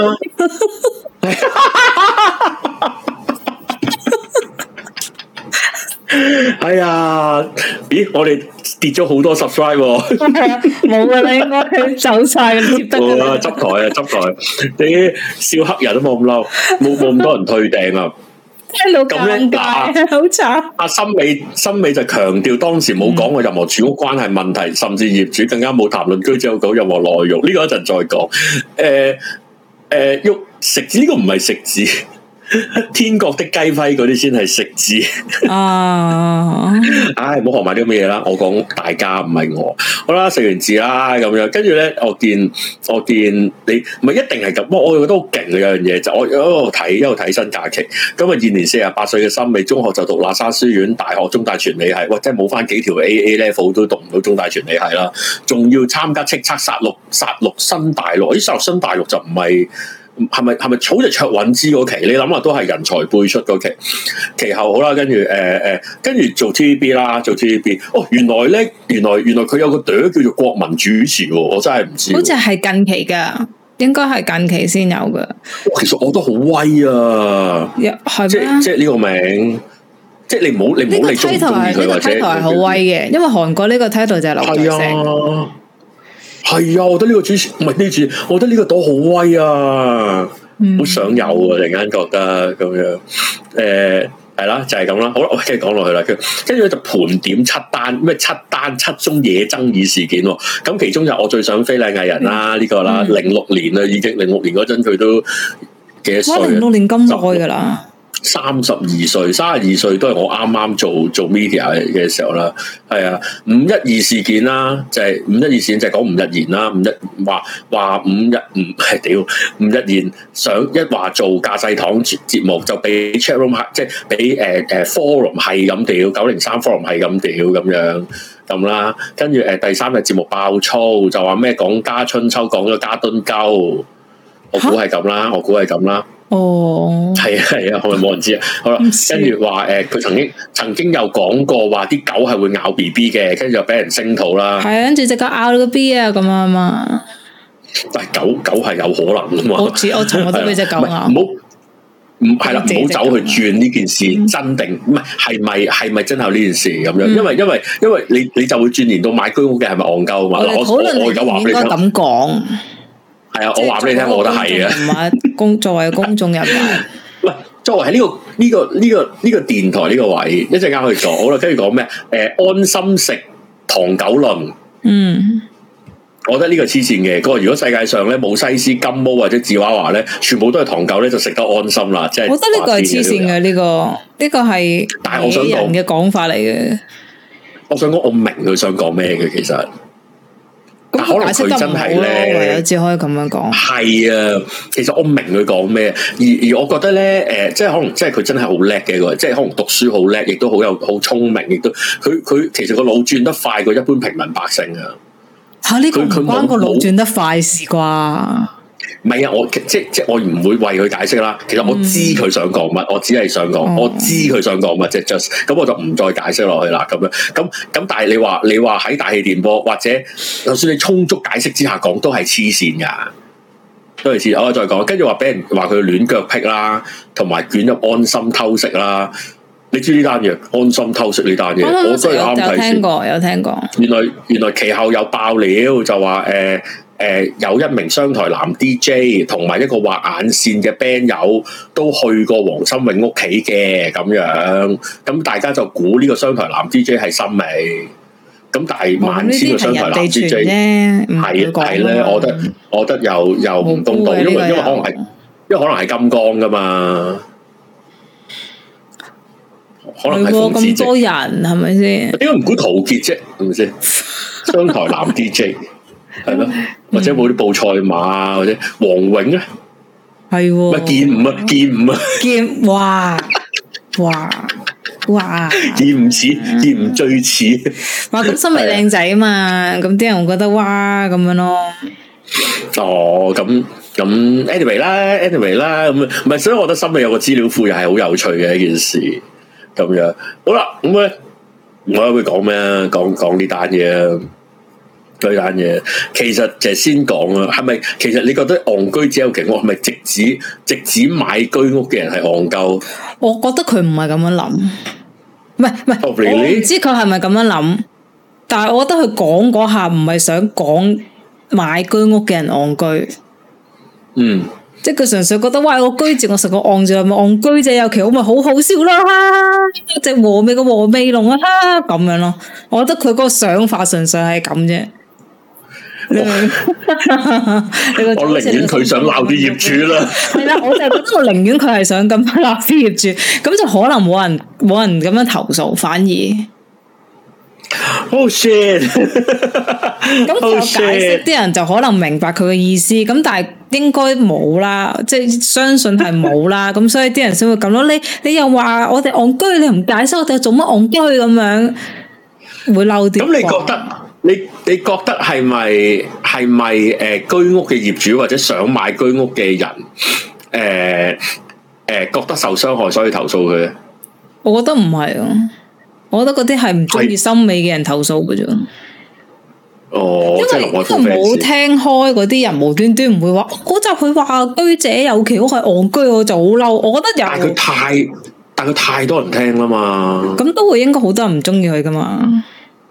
哎呀！咦，我哋跌咗好多 subscribe 喎！ 冇啊，你應該走晒啦，接得啦！ 執台啊，執台！你笑黑人都冇咁嬲，冇冇咁多人退訂啊！ 聽到咁咧，好慘！ 阿森美森美就強調當時冇講過任何住屋關係問題，甚至業主更加冇談論居者有其屋任何內容。呢個一陣再講。誒誒，喐食字呢個唔係食字。天國的雞批嗰啲先係食字啊！唉，唔好學埋啲咁嘅嘢啦。我講大家唔係我。好啦，食完字啦咁樣，跟住咧，我見我見你唔係一定係咁。不過我又覺得好勁嘅有樣嘢，就我一路睇一路睇新假期。今日現年四十八歲嘅森美，中學就讀喇沙書院，大學中大傳理系。喂，真係冇翻幾條 A A level 都讀唔到中大傳理系啦。仲要參加叱咤殺戮殺戮新大陸，啲殺戮新大陸就唔係。係咪係咪草就卓韻芝嗰期？你諗下都係人才輩出嗰期。其後好啦，跟住誒誒，跟住做 T V B 啦，做 T V B。哦，原來咧，原來原來佢有個朵叫做國民主持喎，我真係唔知。好似係近期噶，應該係近期先有噶。其實我都好威啊，係即即係呢個名，即係你唔好你唔好你中唔中意佢或者。呢個 title 係好威嘅，因為韓國呢個 title 就係劉在石。係啊，我覺得呢個主持唔係呢個主持，我覺得呢個朵好威啊，好、嗯、想有啊！突然間覺得咁樣，誒、呃、 係啦，就係咁啦。好啦，我繼續講落去啦。跟跟住咧就盤點七單咩七單七宗嘢爭議事件。咁其中就我最想非禮藝人啦，呢、嗯、個啦，零六年啦，已經零六年嗰陣佢都幾多歲？哇，零六年咁耐噶啦。三十二歲，三十二歲都係我啱啱做做 media 嘅時候啦，係啊，五一二事件啦，就係、是、五一二事件就係講吳日賢啦，五一話話五一唔係屌，吳日賢想一話做駕駛堂節目就俾 chat room 即係俾誒誒 forum 係咁屌，九零三 forum 係咁屌咁樣咁啦，跟住誒第三日節目爆粗就話咩講家春秋講咗家敦鳩，我估係咁啦，我估係咁啦。哦，係啊係啊，係咪冇人知啊？好啦，跟住話誒，佢曾經曾經有講過話啲狗係會咬 B B 嘅，跟住就俾人聲討啦。係啊，跟住隻狗咬咗個 B 啊，咁啊嘛。但係狗狗係有可能噶嘛？我似我尋日都俾隻狗咬。唔好唔係啦，唔好走去轉呢件事真定唔係係咪係咪真係有呢件事咁樣？因為因為因為你你就會轉連到買居屋嘅係咪戇鳩嘛？我我我而家話俾你聽，咁講。係啊，我話俾你聽，我覺得係啊。公作為公眾人物，唔係作為喺呢個呢個呢個呢個電台呢個位，一陣間可以講好啦。跟住講咩？誒，安心食糖狗輪。嗯，我覺得呢個黐線嘅。嗰個如果世界上咧冇西施、金毛或者芝娃娃咧，全部都係糖狗咧，就食得安心啦。即係我覺得呢個係黐線嘅，呢個呢個係但係我想講嘅講法嚟嘅。我想講，我明佢想講咩嘅，其實。但可能佢真係咧，我只可以咁樣講。係啊，其實我明佢講咩，而而我覺得咧，誒、呃，即係可能，即係佢真係好叻嘅個，即係可能讀書好叻，亦都好有好聰明，亦都佢佢其實個腦轉得快過一般平民百姓啊。吓，呢個唔關個腦轉得快事啩？唔係啊，我即即我唔會為佢解釋啦。其實我知佢想講乜，嗯、我只係想講，嗯、我知佢想講乜，即係 just 咁，我就唔再解釋落去啦。咁樣咁咁，但係你話你話喺大氣電波或者就算你充足解釋之下講，都係黐線噶，都係黐。我再講，跟住話俾人話佢亂腳癖啦，同埋捲入安心偷食啦。你知呢單嘢？安心偷食呢單嘢，我都係啱睇先。有聽過，有聽過。原來原來其後有爆料，就話誒。呃誒、呃，有一名商台男 D J 同埋一個畫眼線嘅 band 友都去過黃心穎屋企嘅咁樣，咁大家就估呢個商台男 D J 係森美，咁但係萬千個商台男 D J 係係咧，我覺得我覺得又又唔公道，因為因為可能係因為可能係金剛噶嘛，可能係咁多人係咪先？點解唔估陶傑啫？係咪先？商台男 D J 係咯。或者冇啲報賽馬，或者黃永咧，係喎，咪劍五啊，劍五啊，劍哇哇哇，劍唔似，劍唔最似。哇，咁森美靚仔啊嘛，咁啲人會覺得哇咁樣咯。哦，咁咁 anyway 啦 ，anyway 啦，咁唔係，所以我覺得森美有個資料庫又係好有趣嘅一件事。咁樣好啦，咁咧我會講咩啊？講講呢單嘢啊！對單嘢，其實就係先講啦，係咪？其實你覺得戇居只有其我係咪直指直指買居屋嘅人係戇鳩？我覺得佢唔係咁樣諗，唔係唔係，oh, really? 我唔知佢係咪咁樣諗，但係我覺得佢講嗰下唔係想講買居屋嘅人戇居，嗯，即係佢純粹覺得哇，我居住我成個戇住，咪戇居者有其屋咪好好笑啦，一隻和味嘅和味龍啊，咁樣咯，我覺得佢嗰個想法純粹係咁啫。我寧願佢想鬧啲業主啦，係啦，我就覺得我寧願佢係想咁樣鬧啲業主，咁就可能冇人冇人咁樣投訴，反而。Oh shit！ 咁就解釋啲人就可能明白佢嘅意思，咁但係應該冇啦，即係相信係冇啦，咁所以啲人先會咁咯。你你又話我哋戇居，你唔解釋我哋做乜戇居咁樣，會嬲啲。咁你覺得？你你覺得係咪係咪誒居屋嘅業主或者想買居屋嘅人誒誒、呃呃、覺得受傷害所以投訴佢咧？我覺得唔係啊，我覺得嗰啲係唔中意森美嘅人投訴嘅啫。哦，因為佢冇聽開嗰啲人無端端唔會話嗰集佢話居者有其屋係戇居，我就好嬲。我覺得有，但係佢太但係佢太多人聽啦嘛，咁都會應該好多人唔中意佢噶嘛。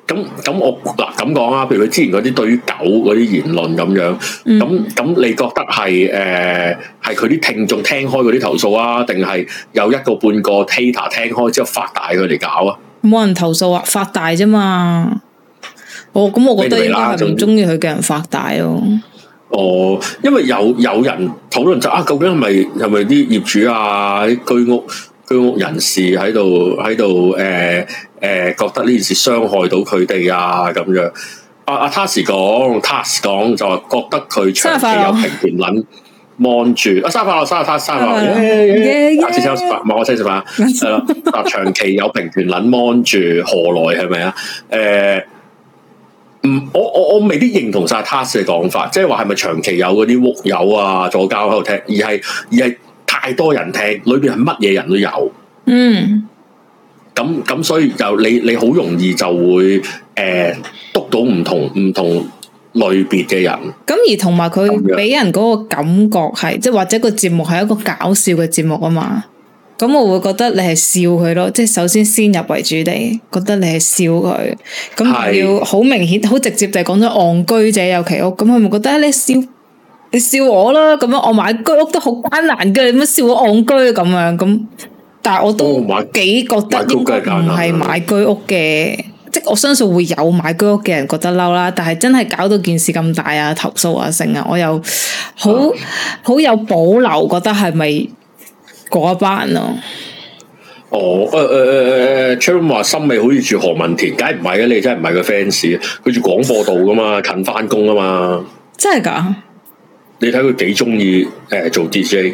咁咁我嗱咁講啊，譬如佢之前嗰啲對於狗嗰啲言論咁樣，咁咁、嗯、你覺得係誒係佢啲聽眾聽開嗰啲投訴啊，定係有一個半個 hater 聽開之後發大佢哋搞啊？冇人投訴啊，發大啫嘛。哦，咁我覺得應該係唔中意佢嘅人發大咯。 哦，因為有有人討論就啊，究竟係咪係咪啲業主啊、啲居屋居屋人士喺度喺度誒誒覺得呢件事傷害到佢哋啊咁樣？阿阿 Tas 講 Tas 講就話覺得佢長期有平權撚望住啊，生日快樂，生日他生日快樂，下次請我食飯，望我請食飯係啦。啊，長期有平權撚望住何來係咪啊？誒。唔，我我我未必認同晒 Tas 嘅講法，即係話係咪長期有嗰啲屋友啊左膠喺度聽，而係而係太多人聽，裏邊係乜嘢人都有。嗯，咁咁所以就你你好容易就會誒督到唔同唔同類別嘅人。咁而同埋佢俾人嗰個感覺係，即係或者個節目係一個搞笑嘅節目啊嘛。咁我會覺得你係笑佢咯，即係首先先入為主地，覺得你係笑佢，咁要好明顯、好直接地講咗戇居者有其屋，咁佢咪覺得你笑你笑我啦，咁樣我買居屋都好艱難嘅，你乜笑我戇居咁樣咁？但係我都幾覺得應該唔係買居屋嘅，即係我相信會有買居屋嘅人覺得嬲啦，但係真係搞到件事咁大啊，投訴啊成啊，我又好好、嗯、有保留，覺得係咪？嗰一班咯， 哦，誒誒誒誒 Charon 話森美好似住何文田，梗係唔係嘅，你真係唔係個 fans，佢住廣播道噶嘛，近翻工啊嘛， 真係噶？ 你睇佢幾中意誒做 D J，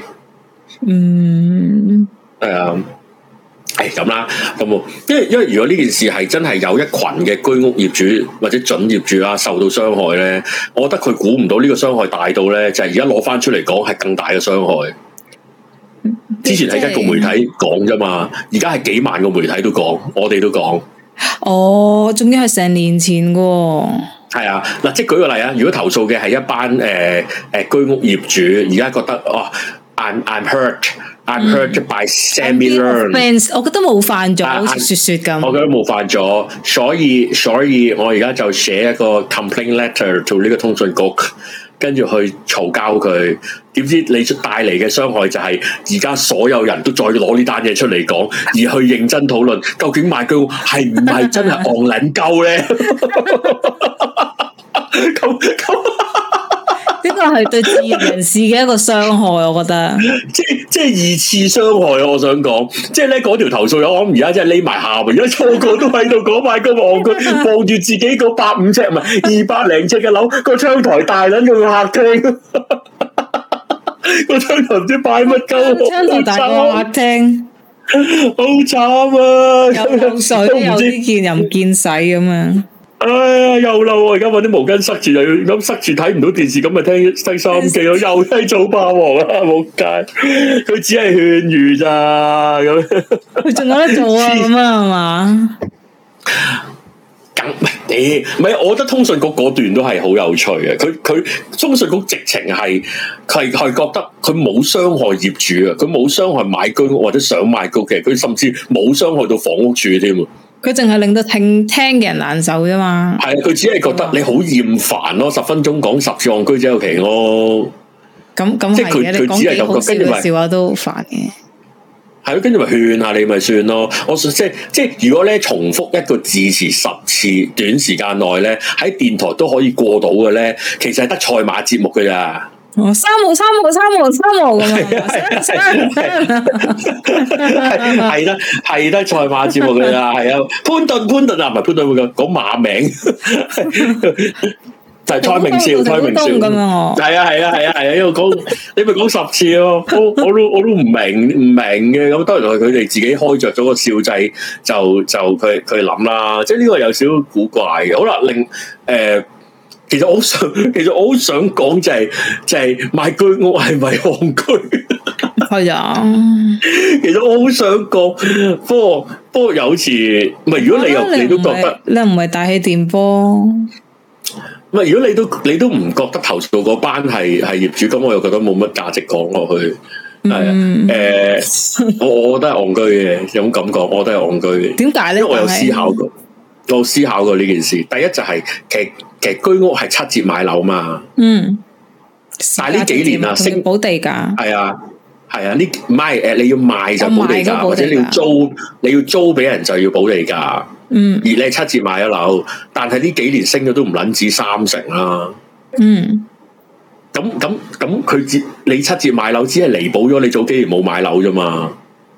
嗯，係啊，係咁啦，咁，因為因為如果呢件事係真係有一群嘅居屋業主或者準業主啊受到傷害咧，我覺得佢估唔到呢個傷害大到咧，就係而家攞翻出嚟講係更大嘅傷害。之前係一個媒體講啫嘛，而家係幾萬個媒體都講，我哋都講。哦， 仲要係成年前噶。 係啊，嗱，即係舉個例啊，如果投訴嘅係一班誒誒、呃、居屋業主，而家覺得哦 ，I'm I'm hurt，I'm hurt by Sammy Learn，我覺得冇犯咗，好似雪雪咁。 我覺得冇犯咗，所以所以我而家就寫一個 complaint letter 做呢個通訊局。跟住去嘈交佢，點知你帶嚟嘅傷害就係而家所有人都再攞呢單嘢出嚟講，而去認真討論究竟買居屋係唔係真係戇撚鳩咧？咁咁呢個係對自然人士嘅一個傷害，我覺得。 即即係二次傷害啊！我想講，即係咧嗰條投訴友，我諗而家真係匿埋下邊，而家個個都喺度講買居屋，佢望住自己嗰百五尺唔係二百零尺嘅樓，個窗台大撚過個客廳，個窗台唔知擺乜鳩， 窗台大過客廳， 好慘啊！ 有漏水，有啲見又唔見使咁樣。 哎呀，又漏啊！而家搵啲毛巾塞住，又要咁塞住睇唔到電視，咁咪聽聽收音機咯。又睇早霸王啊！冇計，佢只係勸喻咋咁。 佢仲有得做啊？咁啊係嘛？ 咁唔係，唔係，我覺得通訊局嗰段都係好有趣嘅。佢佢通訊局直情係係係覺得佢冇傷害業主啊，佢冇傷害買居屋或者想買居屋嘅，佢甚至冇傷害到房屋署添。 佢淨係令到聽聽嘅人難受啫嘛。 係啊，佢只係覺得你好厭煩咯，十分鐘講十次戇居者有其屋。 咁咁係嘅，你講幾好笑嘅笑話都煩嘅。 係咯，跟住咪勸下你咪算咯。我即係即係，如果咧重複一個字詞十次，短時間內咧喺電台都可以過到嘅咧，其實係得賽馬節目㗎咋。 哦，三號三號三號三號咁啊！ 係得係得賽馬節目㗎咋，係啊，潘頓潘頓啊，唔係潘頓會講講馬名。就係蔡明少，蔡明少咁樣，係啊係啊係啊係啊，因為講你咪講十次咯，我我都我都唔明唔明嘅，咁當然係佢哋自己開着咗個笑掣，就就佢佢諗啦，即係呢個有少少古怪嘅。好啦，另誒、呃，其實我好想，其實我好想講就係、是、就係、是、買居屋係咪戇居？ 係啊， 其實我好想講，不過不過有時唔係，如果你又你，你都覺得你唔係大氣電波。 唔係，如果你都你都唔覺得投訴嗰班係係業主，咁我又覺得冇乜價值講落去。係啊，誒、嗯呃，我我覺得係戇居嘅，有種感覺，我覺得係戇居嘅。 點解咧？ 因為我有思考過。 我思考過呢件事。第一就係、是、其實其實居屋係七折買樓嘛。 嗯。 但係呢幾年啊，升補地價。 係啊，係啊，呢唔係誒，你要賣就補地價，或者你要租，你要租俾人就要補地價。嗯。而你係七折買咗樓，但係呢幾年升咗都唔撚止三成啦。嗯。咁咁咁，佢折你七折買樓，只係彌補咗你早幾年冇買樓啫嘛。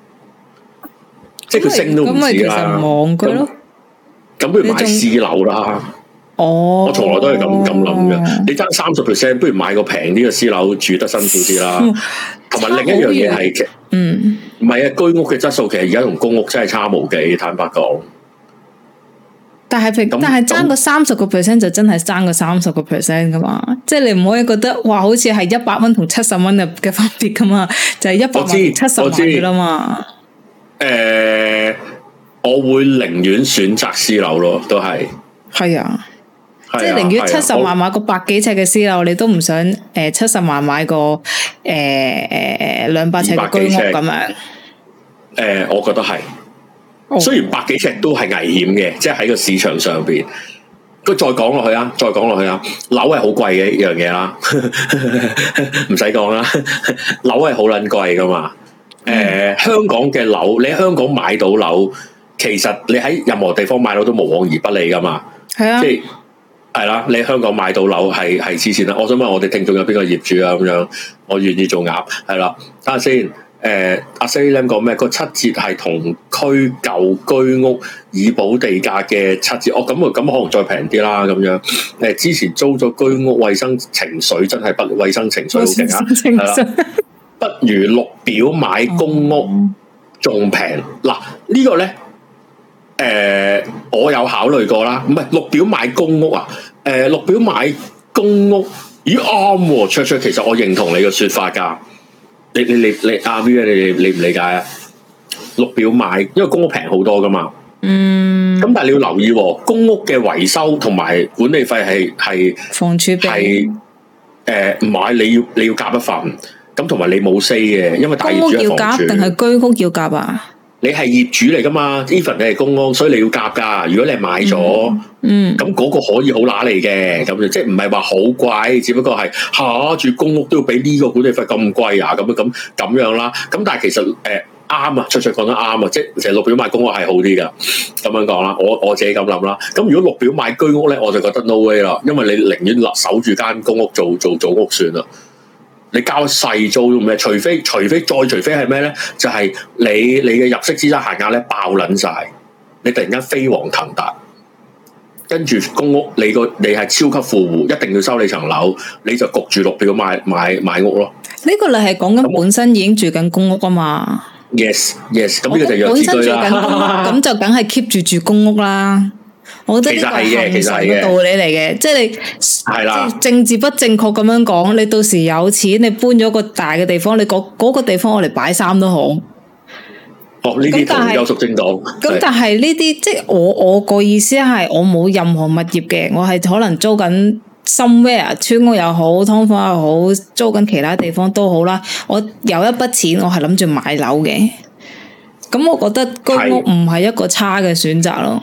即係佢升都唔止啦。咁咪其實望佢咯。咁不如買私樓啦。哦。我從來都係咁咁諗嘅。你爭三十 percent，不如買個平啲嘅私樓住得辛苦啲啦。同埋另一樣嘢係，嗯，唔係啊，居屋嘅質素其實而家同公屋真係差無幾，坦白講。但係平，但係爭個三十個 percent 就真係爭個三十個 percent 噶嘛，即係你唔可以覺得哇，好似係一百蚊同七十蚊嘅嘅分別噶嘛，就係一百萬七十萬噶啦嘛。誒、呃，我會寧願選擇私樓咯，都係。係啊，即係寧願七十萬買個百幾尺嘅私樓，你都唔想誒七十萬買個誒誒兩百尺嘅居屋咁樣。誒、呃，我覺得係。雖然百幾尺都係危險嘅，即係喺個市場上邊。佢再講落去啊，再講落去啊，樓係好貴嘅一樣嘢啦，唔使講啦，樓係好撚貴噶嘛。誒、呃，香港嘅樓，你喺香港買到樓，其實你喺任何地方買樓都無往而不利噶嘛。係啊，即係係啦，你喺香港買到樓係係黐線啦。我想問我哋聽眾有邊個業主啊？咁樣我願意做鴨，係啦，睇下先。誒，阿 Salim 講咩？個七折係同區舊居屋以補地價嘅七折。哦，咁啊，咁可能再平啲啦。咁樣，誒，之前租咗居屋，衛生情緒真係不衛生情緒好勁啊！係啦，不如綠表買公屋仲平。嗱，呢個咧，誒，我有考慮過啦。唔係綠表買公屋啊？誒，綠表買公屋，咦啱喎！卓卓，其實我認同你嘅說法噶。你你你你阿 V 啊，你你理唔理解啊？綠表買，因為公屋平好多噶嘛。嗯。咁但係你要留意，公屋嘅維修同埋管理費係係房儲係誒，唔係你要你要夾一份，咁同埋你冇 say 嘅，因為大業主係房儲定係居屋要夾啊？你係業主嚟噶嘛 ？even 你係公屋，所以你要夾噶。如果你係買咗，嗯，咁嗰個可以好揦嚟嘅，咁就即係唔係話好貴，只不過係下住公屋都要俾呢個管理費咁貴啊，咁樣咁咁樣啦。咁但係其實誒啱啊，卓卓講得啱啊，即係其實綠表買公屋係好啲噶，咁樣講啦。我我自己咁諗啦。咁如果綠表買居屋咧，我就覺得 no way 啦，因為你寧願守住間公屋做做組屋算啦。你交細租做咩？除非除非再除非係咩咧？就係、是、你你嘅入息資產限額咧爆撚晒，你突然間飛黃騰達，跟住公屋你個你係超級富戶，一定要收你層樓，你就焗住綠表買買買屋咯。呢個你係講緊本身已經住緊公屋啊嘛 ？Yes yes，咁呢個就弱智居啦。咁就梗係 keep 住住公屋啦。我覺得呢個係恆常嘅道理嚟嘅，即係你係啦，政治不正確咁樣講，你到時有錢，你搬咗個大嘅地方，你嗰嗰個地方我嚟擺衫都好。哦，呢啲同有屬政黨。咁但係呢啲即係我我個意思係，我冇任何物業嘅，我係可能租緊 somewhere 村屋又好，劏房又好，租緊其他地方都好啦。我有一筆錢，我係諗住買樓嘅。咁我覺得居屋唔係一個差嘅選擇咯。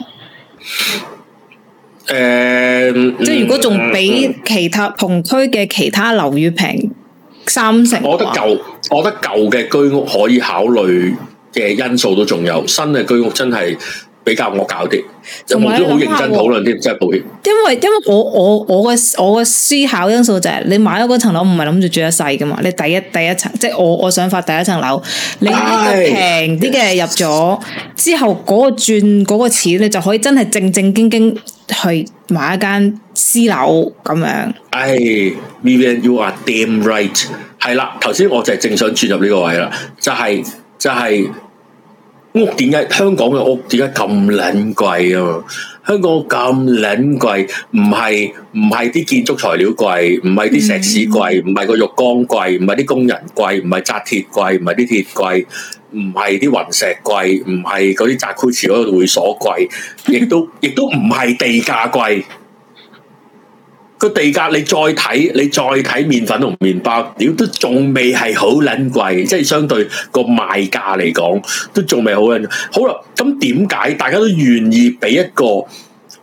誒、嗯，即係如果仲比其他同區嘅其他樓宇平三成，我覺得舊，我覺得舊嘅居屋可以考慮嘅因素都仲有，新嘅居屋真係比較惡搞啲，有冇都好認真討論啲，真係抱歉。因為因為我我我嘅我嘅思考因素就係、是，你買咗嗰層樓唔係諗住住一世噶嘛，你第一第一層，即係我我想法第一層樓，你呢個平啲嘅入咗之後，嗰個轉嗰個錢，你就可以真係正正經經去買一間私樓咁樣。唉 Vivian you are damn right， 係啦，頭先我就係正想轉入呢個位啦，就係、是、就係、是。屋點解香港嘅屋點解咁撚貴啊？香港咁撚貴，唔係唔係啲建築材料貴，唔係啲石屎貴，唔係個浴缸貴，唔係啲工人貴，唔係紮鐵貴，唔係啲鐵貴，唔係啲雲石貴，唔係嗰啲扎庫池嗰個會所貴，亦都亦都唔係地價貴。個地價你再睇，你再睇麵粉同麵包，屌都仲未係好撚貴，即係相對個賣價嚟講，都仲未好撚。好啦，咁點解大家都願意俾一個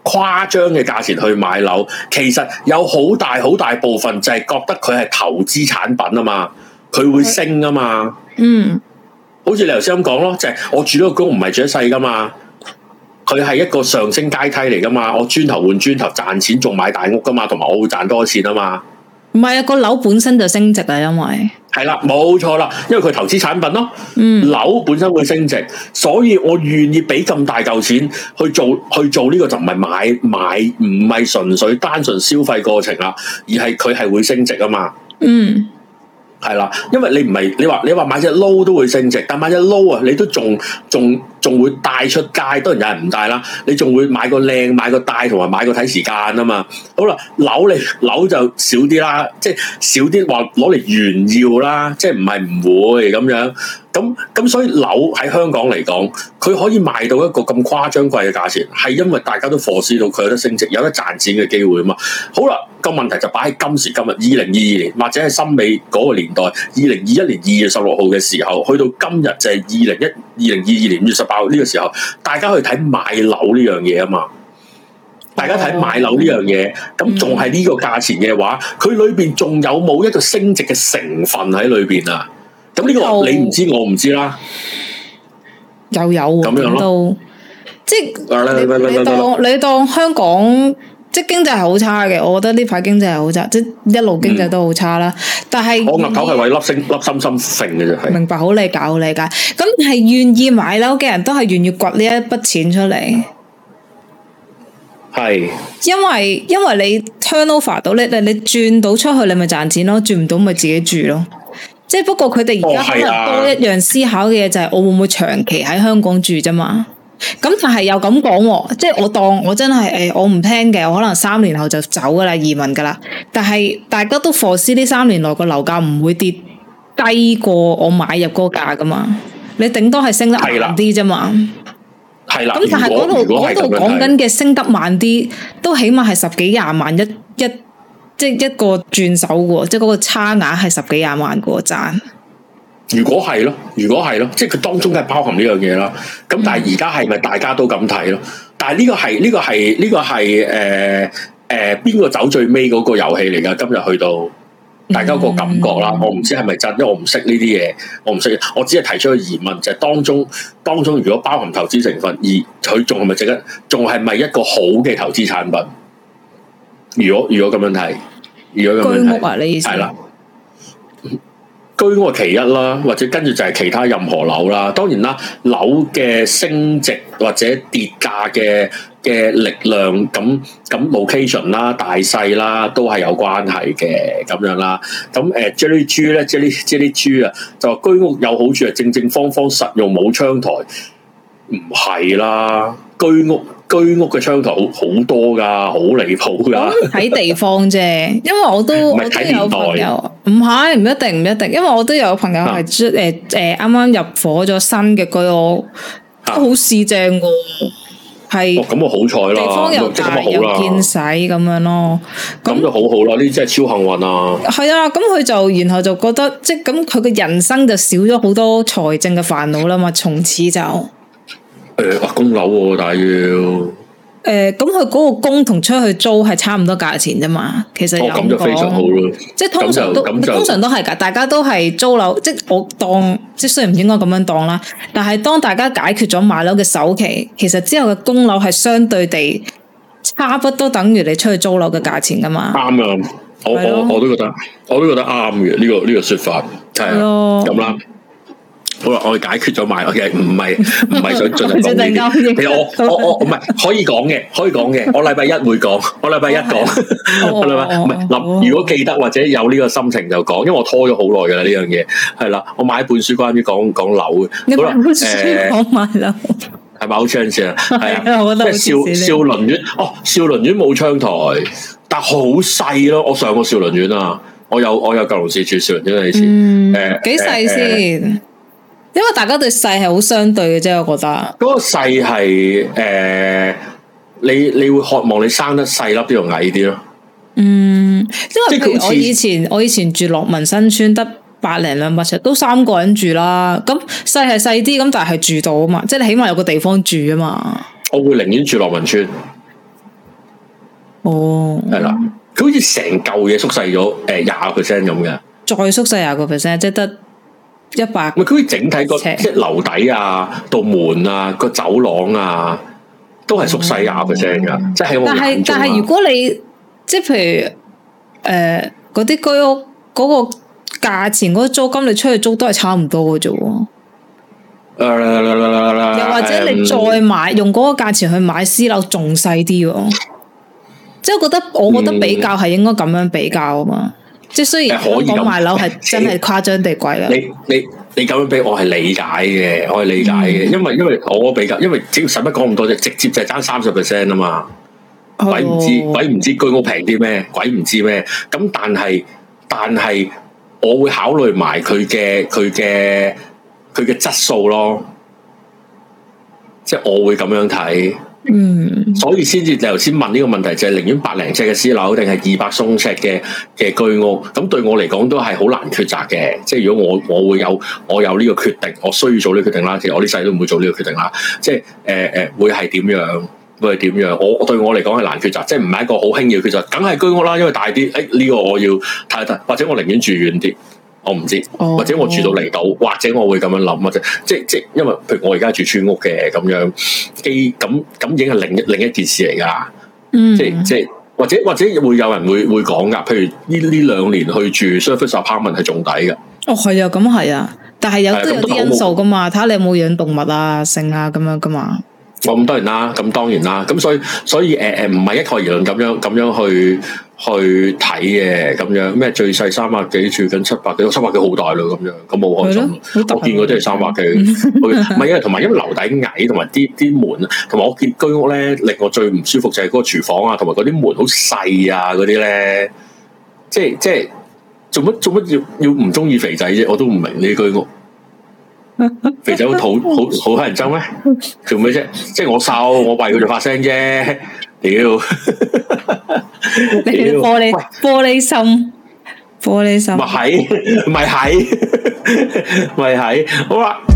誇張嘅價錢去買樓，其實有好大好大部分就係覺得佢係投資產品啊嘛，佢會升啊嘛。嗯，好似你頭先咁講咯，就係、是、我住呢個公屋唔係住一世噶嘛，佢係一個上升階梯嚟噶嘛，我磚頭換磚頭賺錢仲買大屋噶嘛，同埋我會賺多錢啊嘛。 唔係啊，個樓本身就升值啊，因為係啦，冇錯啦，因為佢投資產品咯。嗯，樓本身會升值，所以我願意俾咁大嚿錢去做去做呢個就唔係買買，唔係純粹單純消費過程啦，而係佢係會升值啊嘛。嗯。係啦，因為你唔係你話你話買隻撈都會升值，但買隻撈啊，你都仲仲仲會帶出街，當然有人唔帶啦。你仲會買個靚，買個帶，同埋買個睇時間啊嘛。好啦，樓你樓就少啲啦，即係少啲話攞嚟炫耀啦，即係唔係唔會咁樣。咁咁所以樓喺香港嚟講，佢可以賣到一個咁誇張貴嘅價錢，係因為大家都 foresee 到佢有得升值，有得賺錢嘅機會啊嘛。好啦，個問題就擺喺今時今日二零二二年，或者係森美嗰個年代，二零二一年二月十六號嘅時候，去到今日就係二零一二零二二年五月十八號呢個時候，大家去睇買樓呢樣嘢啊嘛。大家睇買樓呢樣嘢，咁仲係呢個價錢嘅話，佢裏邊仲有冇一個升值嘅成分喺裏邊啊？咁呢個你唔知，我唔知啦。 又有咁樣咯，即係你，你當你當香港即係經濟係好差嘅，我覺得呢排經濟係好差，即係一路經濟都好差啦。嗯、但係我額頭係為粒星粒心心揈嘅啫，係明白，好理解，好理解。咁係願意買樓嘅人都係願意掘呢一筆錢出嚟， 係因為因為你 turnover 到你你你轉到出去，你咪賺錢咯，轉唔到咪自己住咯。即係不過佢哋而家可能多一樣思考嘅嘢就係我會唔會長期喺香港住啫嘛？咁但係又咁講，即係我當我真係誒我唔聽嘅，我可能三年後就走噶啦，移民噶啦。但係大家都 foresee 呢三年內個樓價唔會跌低過我買入嗰個價噶嘛？你頂多係升得慢啲啫嘛。 係啦。 咁但係嗰度嗰度講緊嘅升得慢啲，都起碼係十幾廿萬一一。即係一個轉手嘅，即係嗰個差額係十幾廿萬嘅賺。 如果係咯，如果係咯，即係佢當中梗係包含呢樣嘢啦。咁但係而家係咪大家都咁睇咯？但係呢個係呢個係呢個係誒誒邊個走最尾嗰個遊戲嚟㗎？今日去到大家個感覺啦，嗯、我唔知係咪真，因為我唔識呢啲嘢，我唔識，我只係提出個疑問，就係、是、當中當中如果包含投資成分，而佢仲係咪值得？仲係咪一個好嘅投資產品？如果如果咁樣睇，如果咁樣睇，居屋啊，你意思係啦，居屋係其一啦，或者跟住就係其他任何樓啦。當然啦，樓嘅升值或者跌價嘅嘅力量，咁咁 location 啦、大細啦，都係有關係嘅咁樣啦。咁誒，Jelly G 咧，Jelly Jelly G 啊，就話居屋有好處係正正方方實用，冇窗台，唔係啦，居屋。居屋嘅窗台好好多噶，好離譜噶。睇地方啫，因為我都我都有朋友，唔係唔一定唔一定，因為我都有朋友係誒誒啱啱入伙咗新嘅居屋，都好市正噶，係咁啊好彩啦，地方又大又見使咁樣咯，咁就好好啦，呢啲真係超幸運啊！係啊，咁佢就然後就覺得即係咁，佢嘅人生就少咗好多財政嘅煩惱啦嘛，從此就。誒，哇，供樓喎，但係要誒，咁佢嗰個供同出去租係差唔多價錢啫嘛，其實有咁就非常好咯。即係通常都通常都係噶，大家都係租樓，即係我當，即係雖然唔應該咁樣當啦，但係當大家解決咗買樓嘅首期，其實之後嘅供樓係相對地差不多等於你出去租樓嘅價錢噶嘛。啱啊，我我我都覺得，我都覺得啱嘅呢個呢個說法係啊，咁啦。好啦，我哋解決咗買，我其實唔係唔係想進行講呢啲。其實我我我唔係可以講嘅，可以講嘅。我禮拜一會講，我禮拜一講。我禮拜唔係諗，如果記得或者有呢個心情就講，因為我拖咗好耐噶啦呢樣嘢。係啦，我買一本書關於講講樓嘅。好啦，誒，講買樓係咪好 chance 啊？係啊，我覺得即係少少林苑哦，少林苑冇窗台，但好細咯。我上過少林苑啊，我有我有舊龍市住少林苑以前。誒，幾細先？因為大家對細係好相對嘅啫，我覺得嗰個細係誒，你你會渴望你生得細粒啲又矮啲咯。嗯，因為譬如我以前我以前住樂民新村，得百零兩百尺，都三個人住啦。咁細係細啲，咁但係住到啊嘛，即係你起碼有個地方住啊嘛。我會寧願住樂民村。 哦， 係啦，佢好似成嚿嘢縮細咗，誒廿個 percent 咁嘅， 再縮細廿個 percent，即係得一百。 唔係佢整體個即係樓底啊、道門啊、個走廊啊，都係縮細廿 percent 噶，即係但係但係如果你即係譬如誒嗰啲居屋嗰個價錢嗰個租金，你出去租都係差唔多嘅啫喎。又或者你再買用嗰個價錢去買私樓，仲細啲喎。即係我覺得，我覺得比較係應該咁樣比較啊嘛。即係雖然香港買樓係真係誇張地貴啦。 你你你咁樣比，我係理解嘅，我係理解嘅，因為因為我比較，因為只要使乜講咁多啫，直接就係爭三十 percent 啊嘛。鬼唔知鬼唔知居屋平啲咩？鬼唔知咩？咁但係但係我會考慮埋佢嘅佢嘅。佢嘅質素咯，即係我會咁樣睇，嗯，所以先至你頭先問呢個問題，就係寧願百零尺嘅私樓定係二百鬆尺嘅嘅居屋，咁對我嚟講都係好難抉擇嘅。即係如果我我會有我有呢個決定，我需要做呢個決定啦。其實我呢世都唔會做呢個決定啦。即係誒誒，會係點樣？會係點樣？我對我嚟講係難抉擇，即係唔係一個好輕易嘅抉擇，梗係居屋啦，因為大啲。誒、哎、呢、這個我要睇睇，或者我寧願住遠啲。我唔知，或者我住到離島，或者我會咁樣諗，或者即即因為譬如我而家住村屋嘅咁樣，基咁咁已經係另一另一件事嚟㗎。嗯，即即或者或者會有人會會講㗎，譬如呢呢兩年去住 service apartment 係仲抵㗎。 哦，係啊，咁係啊，但係有都有啲因素㗎嘛，睇下你有冇養動物啊、性啊咁樣㗎嘛。 我咁當然啦，咁當然啦，咁所以所以誒誒唔係一概而論咁樣咁樣去去睇嘅咁樣咩最細三百幾住緊七百幾，三百幾好大咯咁樣，咁好開心。我見過都係三百幾，唔係因為同埋因為樓底矮，同埋啲啲門，同埋我見居屋咧令我最唔舒服就係嗰個廚房啊，同埋嗰啲門好細啊嗰啲咧，即係即係做乜做乜要要唔中意肥仔啫？我都唔明呢啲居屋。肥仔好土好好乞人憎咩？做咩啫？即係我瘦，我為佢哋發聲啫。屌， 你玻璃玻璃心，玻璃心， 咪係咪係咪係？好啦。